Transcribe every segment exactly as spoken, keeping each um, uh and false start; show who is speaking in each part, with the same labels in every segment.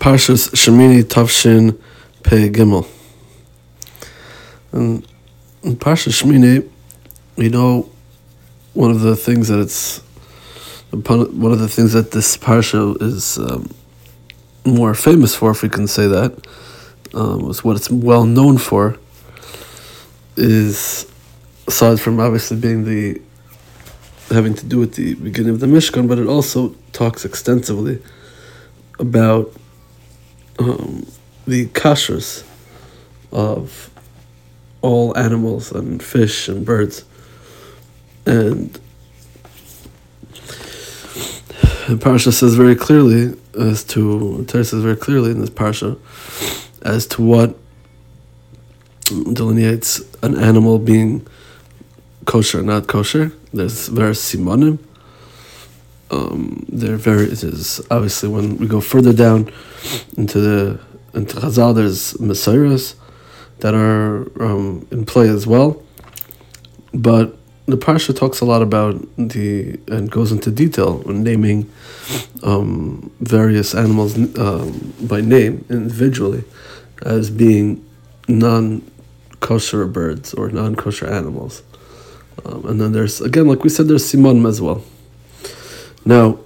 Speaker 1: Parshas Shemini Tavshin Pei Gimel. And in Parshas Shemini, we know one of the things that it's one of the things that this parsha is um, more famous for, if we can say that, um, is what it's well known for. Is aside from obviously being the having to do with the beginning of the Mishkan, but it also talks extensively about um, the kashrus of all animals and fish and birds. And the Parsha says very clearly as to, Torah says very clearly in this Parsha as to what delineates an animal being kosher or not kosher. There's various simonim. Um, there very is obviously when we go further down into the into Chazal, there's Mesiras that are um, in play as well. But the Parsha talks a lot about the and goes into detail when naming um, various animals um, by name individually as being non-kosher birds or non-kosher animals. Um, and then there's, again, like we said, there's simonim as well. Now,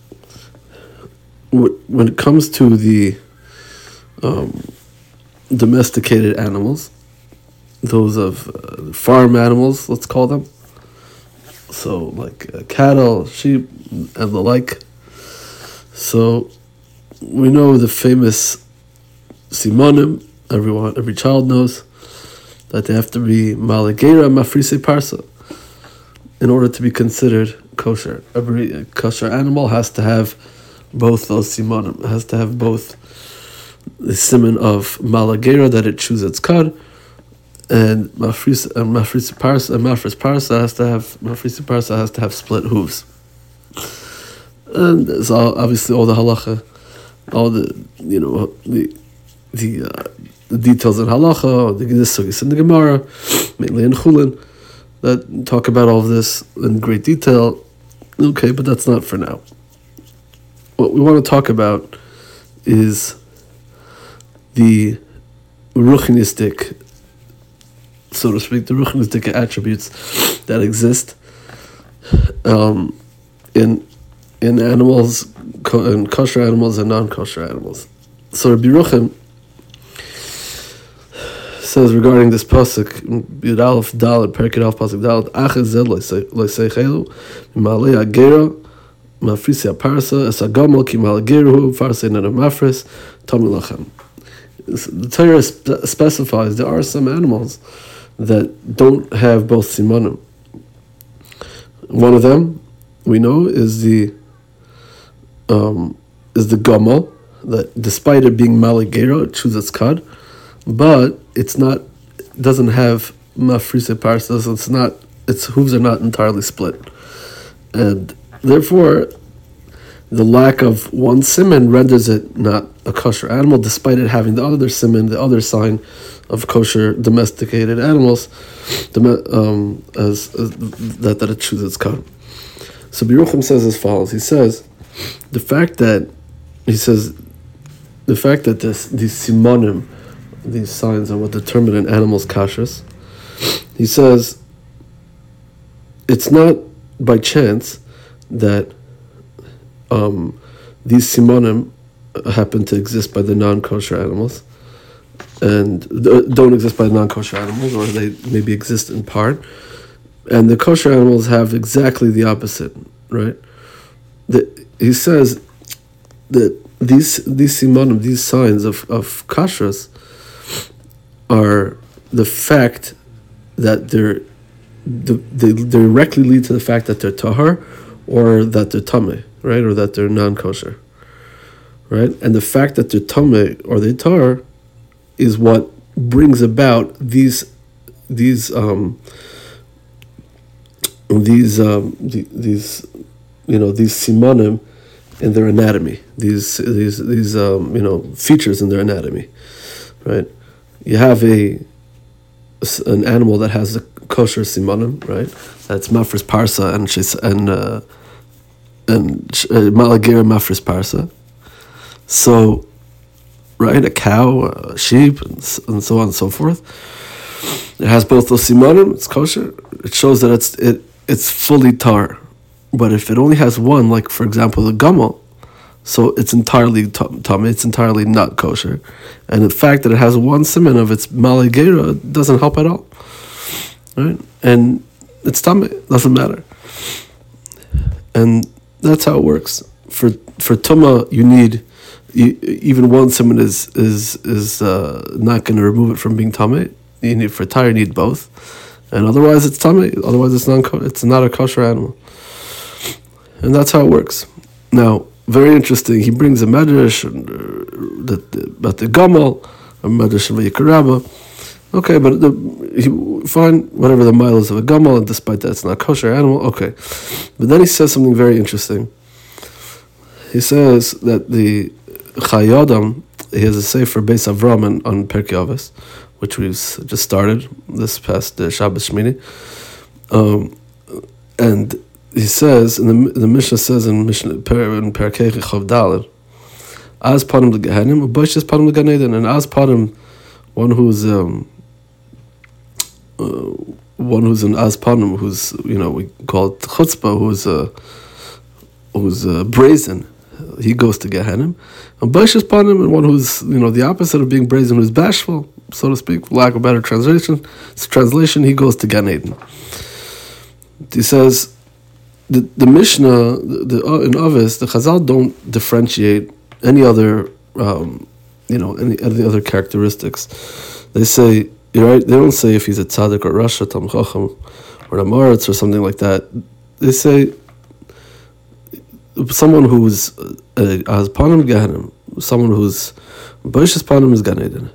Speaker 1: when it comes to the um, domesticated animals, those of uh, farm animals, let's call them, so like uh, cattle, sheep, and the like. So we know the famous simonim. Everyone, every child knows that they have to be malagera mafrise parsa in order to be considered kosher. Every kosher animal has to have both those simonim. It has to have both the simon of malagera, that it chews its cud, and mafris and mafris parsa and mafris parsa has to have mafris parsa has to have split hooves. And there's all, obviously all the halacha, all the you know the the uh, the details in halacha, the sugis in the Gemara, mainly in Chulin, that talk about all of this in great detail. Okay, but that's not for now. What we want to talk about is the ruchnistic, so to speak, the ruchnistic attributes that exist um, in in animals, in kosher animals and non-kosher animals. So Rabbi Yerucham says regarding this pasuk, Yud Aleph Daled, Perek Aleph pasuk Daled, Achaz Zed Loiseichelu, Malei Agera, Mafrisi Aparsa, Esagamol Ki Malageruhu, Farse Nana Mafris, Tomi Lachem. The Torah spe- specifies there are some animals that don't have both simonim. One of them we know is the um, is the gamal, that despite it being malagera, it chews its cud, but it's not doesn't have mafrise parsas. It's not its hooves are not entirely split, and therefore the lack of one siman renders it not a kosher animal, despite it having the other siman, the other sign of kosher domesticated animals, um, as, as that that it chews its cud. So Yerucham says as follows. He says the fact that he says the fact that this these simonim, these signs are what determine an animal's kashrus. He says it's not by chance that um, these simonim happen to exist by the non-kosher animals and don't exist by the non-kosher animals, or they maybe exist in part, and the kosher animals have exactly the opposite, right? The, he says that these these simonim, these signs of, of kashrus, are the fact that they're they directly lead to the fact that they're tahar or that they're tameh, right, or that they're non-kosher, right? And the fact that they're tameh or they're tahar is what brings about these these um these um these you know these simonim in their anatomy, these these these um you know features in their anatomy, right? You have a an animal that has a kosher simonim, right? That's mafris parsa and she's and uh, and uh, malagera mafris parsa. So right? A cow, a sheep, and, and so on and so forth. It has both those simanim, it's kosher. It shows that it's it it's fully tar. But if it only has one, like for example the gamal, so it's entirely tummy, it's entirely not kosher. And the fact that it has one siman of its malei gera doesn't help at all. Right? And it's tummy, doesn't matter. And that's how it works. For for tuma, you need you, even one siman is is is uh, not going to remove it from being tummy. You need for tar, you need both, and otherwise it's tummy. Otherwise it's non it's not a kosher animal. And that's how it works. Now, very interesting. He brings a medrash uh, that about the gamal, a medrash of Vayikra Rabbah. Okay, but the, he fine whatever the mile is of a gamal, and despite that, it's not a kosher animal. Okay, but then he says something very interesting. He says that the Chayei Adam, he has a sefer Beis Avram on, on Pirkei Avos, which we've just started this past uh, Shabbos Shmini, um, and he says, in the the Mishnah says in Mishnah in Perkei Chav Daled, as panim leGehenim, u'boishes panim leGan Eden, and as panim, one who's um, uh, one who's an as panim, who's you know we call it chutzpah, who's uh, who's uh, brazen, he goes to Gehenim, and boishes panim, and one who's you know the opposite of being brazen, who's bashful, so to speak, for lack of a better translation, it's translation, he goes to Gan Eden. He says. The the Mishnah the, the uh, in Avos, the Chazal don't differentiate any other um, you know any any other characteristics. They say you're right. They don't say if he's a tzaddik or rasha, tam chacham, or a maritz or something like that. They say someone who's has panim gehenim, someone who's boishes panim is Gan Eden.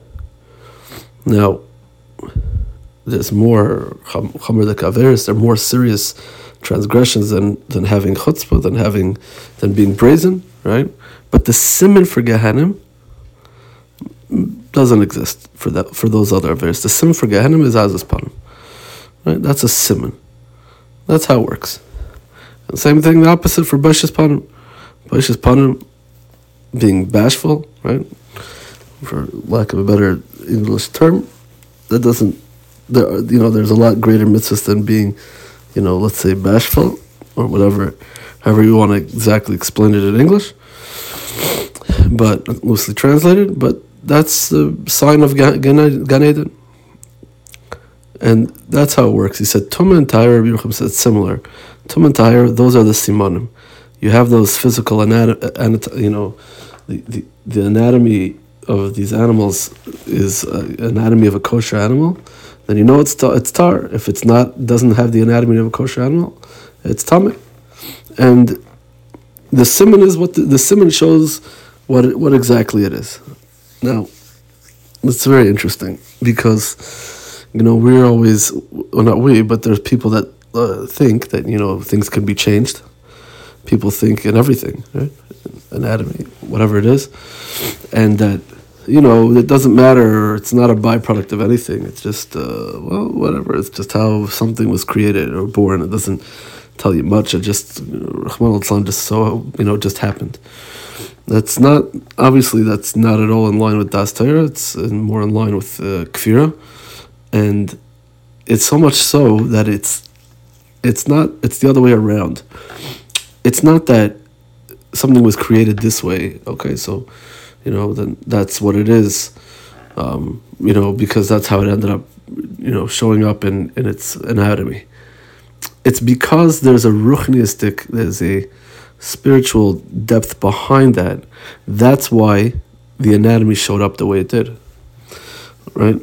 Speaker 1: Now, there's more chamer de kaveris. They're more serious transgressions than, than having chutzpah, than having, than being brazen, right? But the siman for Gehenim doesn't exist for that for those other averes. The siman for Gehenim is azas panim, right? That's a siman. That's how it works. And same thing, the opposite for boishes panim. Boishes panim, being bashful, right? For lack of a better English term, that doesn't. There, are, you know, there's a lot greater mitzvahs than being. You know, let's say bashful, or whatever, however you want to exactly explain it in English, but loosely translated, but that's the sign of Gan, Gan Eden. And that's how it works. He said, Tumah and Tahira, Rabbi Yerucham said similar. Tumah and Tahira, those are the simanim. You have those physical, anatomy, you know, the, the, the anatomy of these animals is uh, anatomy of a kosher animal. Then you know it's tar, it's tar. If it's not, doesn't have the anatomy of a kosher animal, it's tamei. And the siman is what the, the siman shows what it, what exactly it is. Now, it's very interesting because you know we're always, well, not we, but there's people that uh, think that you know things can be changed. People think in everything, right? Anatomy, whatever it is, and that. You know, it doesn't matter, it's not a byproduct of anything, it's just, uh, well, whatever, it's just how something was created or born, it doesn't tell you much, it just, Rahman al-Islam just so, you know, just happened. That's not, obviously that's not at all in line with Das Torah, it's more in line with uh, Kfira, and it's so much so that it's, it's not, it's the other way around. It's not that something was created this way, okay, so, you know, then that's what it is, um, you know, because that's how it ended up, you know, showing up in, in its anatomy. It's because there's a ruchniistic, there's a spiritual depth behind that. That's why the anatomy showed up the way it did, right?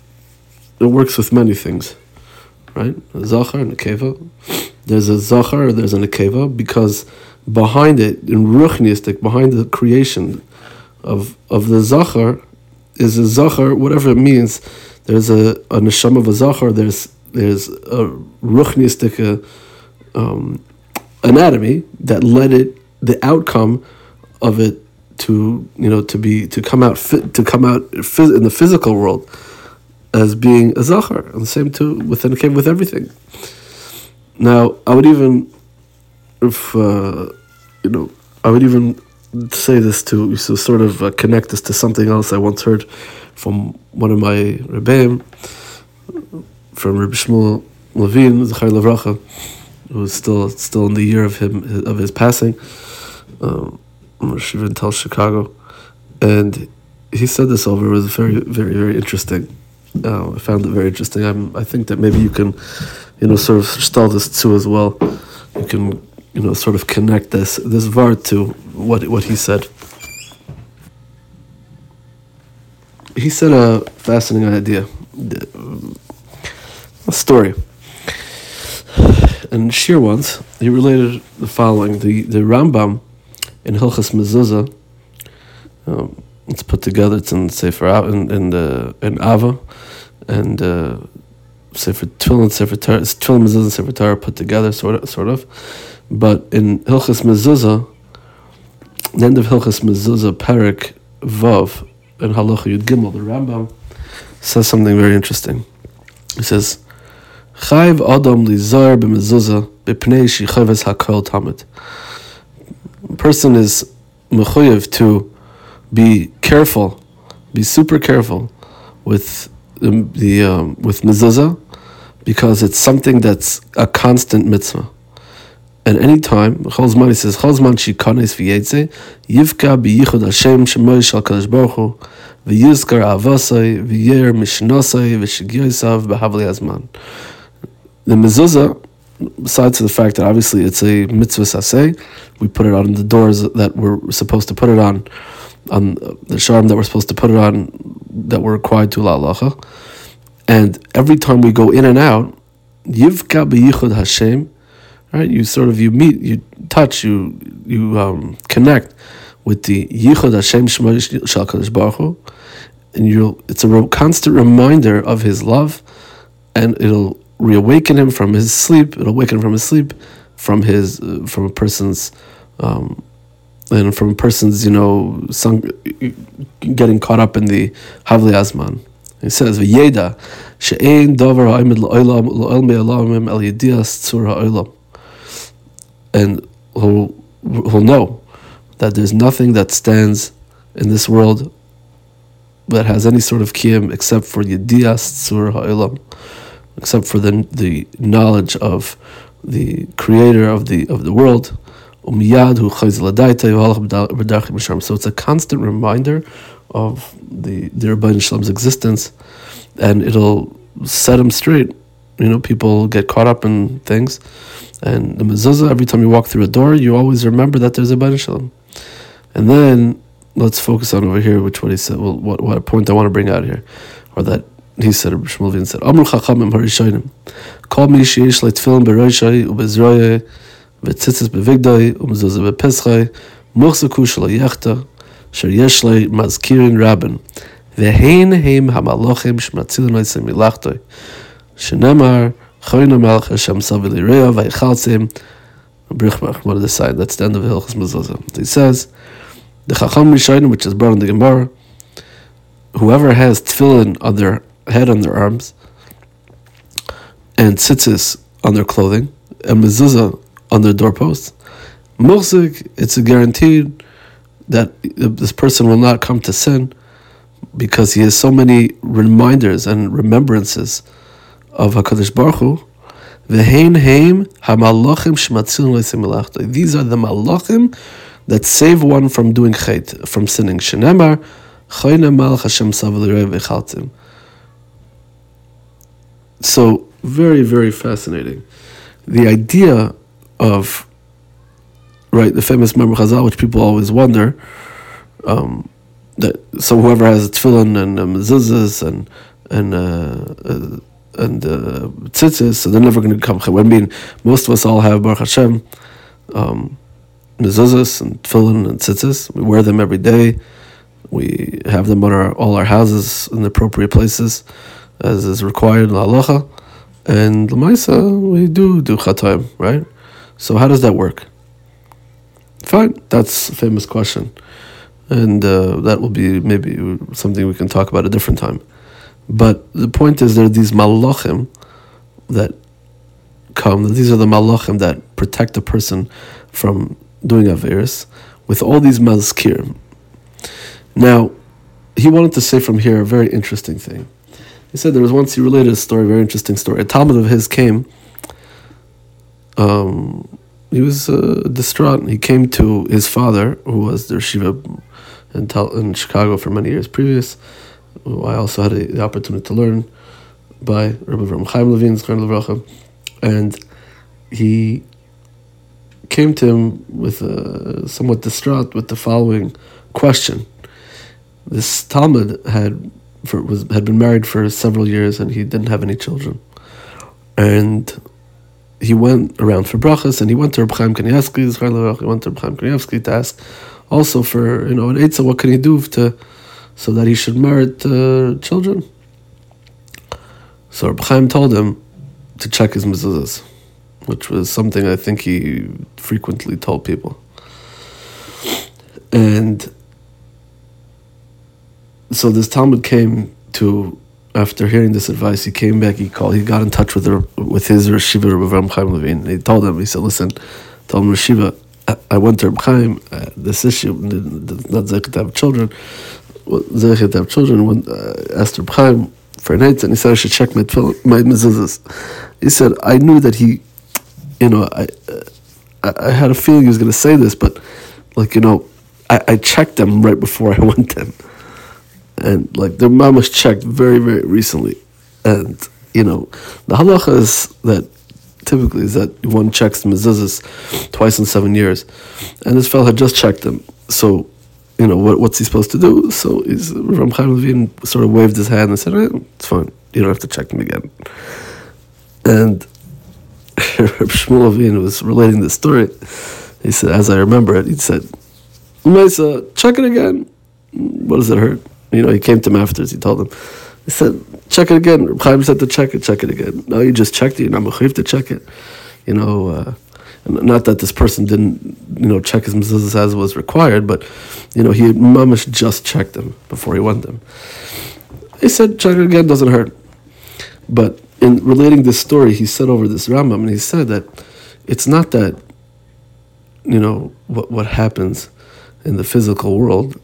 Speaker 1: It works with many things, right? A zachar and a nekeva. There's a zachar, there's a nekeva, because behind it, in ruchniistic, behind the creation of of the zachar is a zachar, whatever it means. There's a, a neshama of a zachar. There's there's a ruchniistic uh, um, anatomy that led it, the outcome of it to you know to be to come out fit, to come out phys- in the physical world as being a zachar, and the same too within with everything. Now I would even if uh, you know I would even say this to, to sort of uh, connect this to something else I once heard from one of my Rebbeim, from Rebbe Shmuel Levine, Zechariah Levracha, who was still still in the year of him of his passing, um, Shiva Tel Chicago, and he said this over. It was very, very, very interesting. Uh, I found it very interesting. I'm, I think that maybe you can, you know, sort of stall this too as well. You can, you know, sort of connect this this vart to what what he said. He said a fascinating idea, a story. And Shir once, he related the following: the the Rambam in Hilchas Mezuzah. Um, it's put together. It's in Sefer in in the in Ava, and uh, Sefer Tefillin, Sefer Torah, Tefillin Mezuzah, and Sefer Torah put together, sort of, sort of. But in Hilchas Mezuzah, the end of Hilchas Mezuzah, Perek Vav, in Halacha Yud Gimel, the Rambam says something very interesting. He says, Chayv Adam Lizar b'Mezuzah b'pnei shichaves hakol tamid. A person is mechuyev to be careful, be super careful with the, the um, with mezuzah, because it's something that's a constant mitzvah. And any time, Cholzman, he says, Cholzman shikanes v'yetze yivka biyichud Hashem shemoy shal kadosh baruch hu v'yizkar avasai v'yer mishnasai v'shigyosav b'havli hazman. The mezuzah, besides the fact that obviously it's a mitzvah saseh, we put it on the doors that we're supposed to put it on, on the sharm that we're supposed to put it on, that we're required to la'alacha. And every time we go in and out, yivka b'yichud Hashem, right? You sort of, you meet, you touch, you you um, connect with the yichud Hashem shema shal kadosh baruch hu, and you it's a re- constant reminder of His love, and it'll reawaken him from his sleep. It'll awaken him from his sleep, from his uh, from a person's um, and from a person's you know sung, getting caught up in the havli azman. He says v'yeda she'ein davar ha'imid la'olam la'ol me'alamim el yedias tzur ha'olam, and he'll he'll know that there's nothing that stands in this world that has any sort of kiyum except for yedias tzur ha'olam, except for the the knowledge of the creator of the of the world. So it's a constant reminder of the the Rebbeinu Shalom's existence, and it'll set him straight. You know, people get caught up in things, and the mezuzah, every time you walk through a door, you always remember that there's a Rebbeinu Shalom. And then let's focus on over here, which what he said. Well, what what point I want to bring out here, or that. He said, Rabbi Shmuel Levine said, Amru Chachamim Harishonim, Kol mi sheyesh le tefillin beroshai ubezroyai v'tzitzis bevigdai umezuzah bepesachai muchzaku shelo yechta sher yesh le mazkirin rabin v'hein heim hamalochim shmatzilin oisem milachtoi shenemar choyna melech Hashem savi lireya v'yichaltzim brichmach. What did the sign? That's the end of Hilchas Mezuzah. He says, the Chacham Rishonim, which is brought in the Gemara, whoever has tefillin on their head, on their arms, and tzitzis on their clothing, and mezuzah on their doorposts, muchzik, it's a guaranteed that this person will not come to sin, because he has so many reminders and remembrances of HaKadosh Baruch Hu. V'hein heim hamalachim shmatzilin le'sim melachta. These are the malachim that save one from doing chait, from sinning. Shenemar choyna malach Hashem sav l'rei v'chaltim. So, very, very fascinating. The idea of, right, the famous Memor Chazal, which people always wonder, um, that so whoever has a tefillin and uh, mezuzahs and and uh, uh, and uh, tzitzis, so they're never going to come. I mean, most of us all have Baruch Hashem um, mezuzahs and tefillin and tzitzis. We wear them every day. We have them on our all our houses in the appropriate places, as is required in halacha, and l'maisa we do do chatayim, right? So how does that work? Fine, that's a famous question, and uh, that will be maybe something we can talk about a different time. But the point is, there are these malachim that come. These are the malachim that protect a person from doing averis. with all these mazkirim. Now, he wanted to say from here a very interesting thing. He said there was once, he related a story, a very interesting story. A Talmud of his came, um, he was uh, distraught. He came to his father, who was the yeshiva in, Tal- in Chicago for many years previous, who I also had a, the opportunity to learn by Rabbi Avraham Chaim Levin, Zechron Levracha, and he came to him with a, somewhat distraught with the following question. This Talmud had for, was had been married for several years and he didn't have any children, and he went around for brachas, and he went to Reb Chaim Kanievsky, Zechron Levracha, he went to Reb Chaim Kanievsky to ask also for, you know, an eitzah, what can he do to so that he should merit uh, children. So Reb Chaim told him to check his mezuzahs, which was something I think he frequently told people. And so this Talmud came to, after hearing this advice, he came back, he called, he got in touch with the, with his Reshiva, Rabbi Avraham Chaim Levin, and he told him, he said, listen, told him, Reshiva, I, I went to Reb Chaim, uh, this issue, not zeichet to have children, zeichet to have children, when uh, asked Reb Chaim for an eitzah, and he said, I should check my, my mezuzahs. He said, I knew that he, you know, I, uh, I had a feeling he was going to say this, but, like, you know, I, I checked them right before I went to him. And like their mama's checked very, very recently. And, you know, the halacha is that typically is that one checks the mezuzahs twice in seven years. And this fellow had just checked them. So, you know, what what's he supposed to do? So he's Ram Chaim Levin sort of waved his hand and said, eh, it's fine, you don't have to check them again. And Reb Shmuel Levin was relating this story. He said, as I remember it, he said, Maisa, check it again. What does it hurt? You know, he came to him afterwards, he told him, he said, check it again. Reb Chaim said to check it, check it again. No, you just checked it, you're not mechuyev to check it. You know, uh, not that this person didn't, you know, check his mezuzahs as was required, but, you know, he had mamash just checked them before he went them. He said, check it again, doesn't hurt. But in relating this story, he said over this Rambam, and he said that it's not that, you know, what what happens in the physical world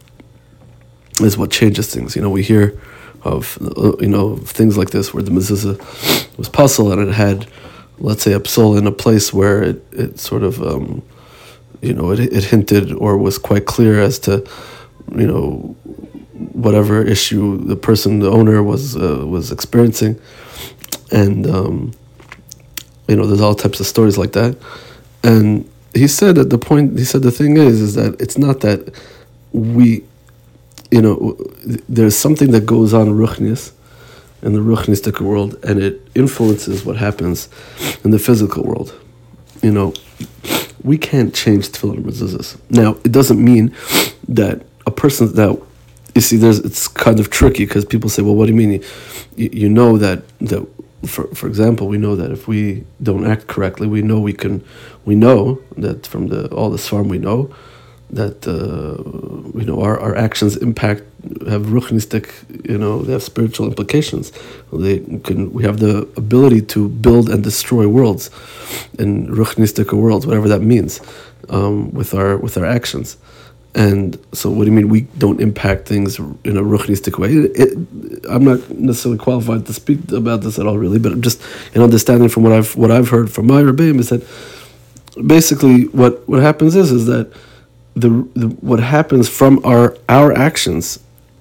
Speaker 1: is what changes things. You know, we hear of, you know, things like this where the mezuzah was puzzle and it had, let's say, a psal in a place where it, it sort of, um, you know, it, it hinted or was quite clear as to, you know, whatever issue the person, the owner was uh, was experiencing. And, um, you know, there's all types of stories like that. And he said that the point, he said the thing is, is that it's not that we, you know, there's something that goes on in Ruchnius, in the Ruchnistic world, and it influences what happens in the physical world. You know, we can't change tefillin and mezuzahs. Now, it doesn't mean that a person that, you see, there's it's kind of tricky because people say, well, what do you mean? You, you know that, that for for example, we know that if we don't act correctly, we know we can, we know that from the all the Sfarim we know, that uh, you know our, our actions impact have ruchnistic, you know, they have spiritual implications. They can we have the ability to build and destroy worlds, in ruchnistic worlds, whatever that means, um, with our with our actions. And so, what do you mean we don't impact things in a ruchnistic way? It, it, I'm not necessarily qualified to speak about this at all, really, but just in understanding from what I've what I've heard from my rebbeim is that basically what, what happens is is that the, the what happens from our our actions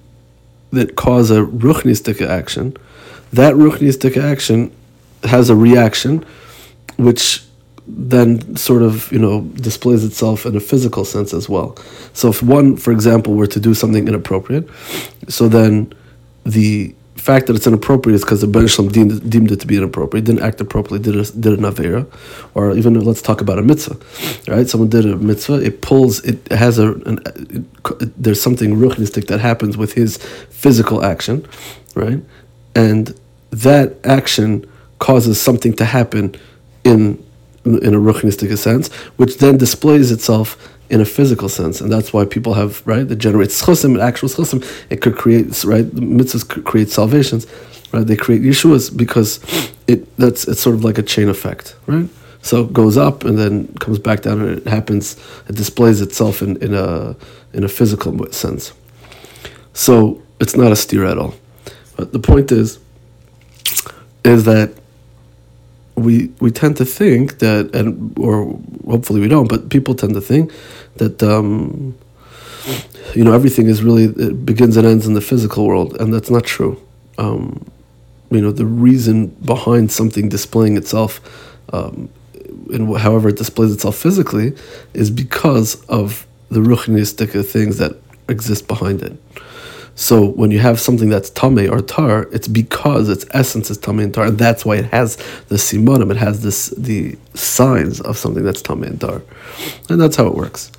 Speaker 1: that cause a ruchnistic action, that ruchnistic action has a reaction, which then sort of, you know, displays itself in a physical sense as well. So if one, for example, were to do something inappropriate, so then the fact that it's inappropriate is because the Ben Shalom deemed, deemed it to be inappropriate, didn't act appropriately, did, a, did an Avera, or even let's talk about a mitzvah, right? Someone did a mitzvah, it pulls, it has a, an, it, it, there's something ruchnistic that happens with his physical action, right? And that action causes something to happen in in a ruchnistic sense, which then displays itself in a physical sense, and that's why people have, right, that generates chosim, actual chosim. It could create, right, the mitzvahs could create salvations, right? They create Yeshuas because it that's it's sort of like a chain effect, right? So it goes up and then comes back down, and it happens. It displays itself in, in a in a physical sense. So it's not a steer at all. But the point is, is that we we tend to think that, and or hopefully we don't, but people tend to think that um, you know everything is really it begins and ends in the physical world, and that's not true. Um, you know the reason behind something displaying itself, um, in however it displays itself physically, is because of the ruchnistic things that exist behind it. So when you have something that's tamei or tar, it's because its essence is tamei and tar, and that's why it has the simonim, it has this the signs of something that's tamei and tar, and that's how it works.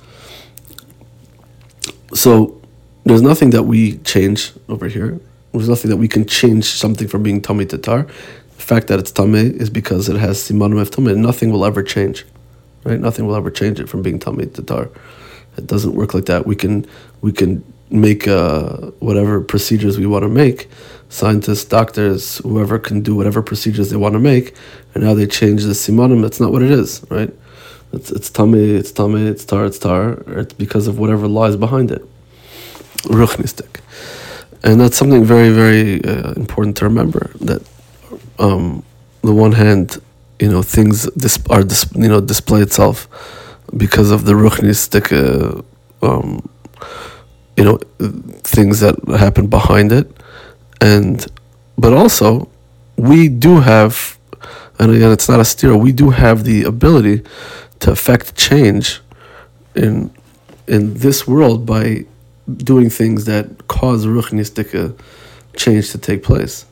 Speaker 1: So there's nothing that we change over here. There's nothing that we can change something from being tamei to tar. The fact that it's tamei is because it has simonim of tamei, and nothing will ever change, right? Nothing will ever change it from being tamei to tar. It doesn't work like that. We can we can. make uh, whatever procedures we want to make. Scientists, doctors, whoever can do whatever procedures they want to make, and now they change the simonim. That's not what it is, right? It's it's tamei, it's tamei, it's tar, it's tar. It's because of whatever lies behind it. Ruchnistic. And that's something very, very uh, important to remember, that um, on the one hand, you know, things dis- are, dis- you know, display itself because of the ruchnistic uh, um you know, things that happen behind it, and but also we do have, and again, it's not a steer. We do have the ability to affect change in in this world by doing things that cause ruchnistic change to take place.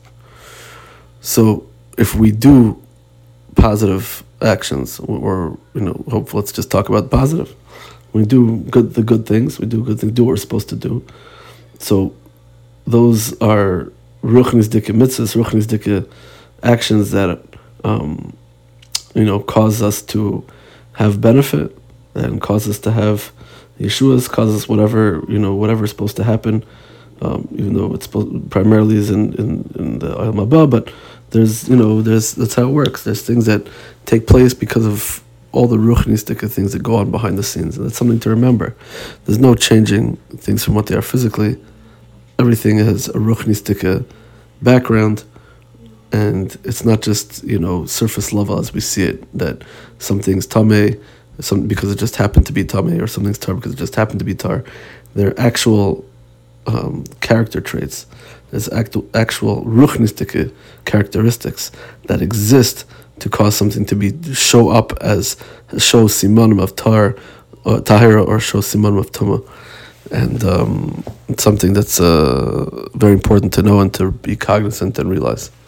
Speaker 1: So if we do positive actions, or you know, hopefully, let's just talk about positive. We do good the good things. We do good things. Do what we're supposed to do. So those are ruchnistic mitzvahs, ruchnistic actions that um, you know cause us to have benefit and cause us to have yeshuas, cause us whatever you know whatever is supposed to happen. Um, even though it's supposed, primarily is in in, in the Olam Haba, but there's you know there's that's how it works. There's things that take place because of all the ruchnistic things that go on behind the scenes. And that's something to remember. There's no changing things from what they are physically. Everything has a ruchnistic background, and it's not just, you know, surface level as we see it, that something's tamei some, because it just happened to be tamei, or something's tar because it just happened to be tar. They're actual um, character traits. There's actual, actual ruchnistic characteristics that exist to cause something to be show up as show simanim of tar, or tahira, or show simanim of tuma, and um, it's something that's uh, very important to know and to be cognizant and realize.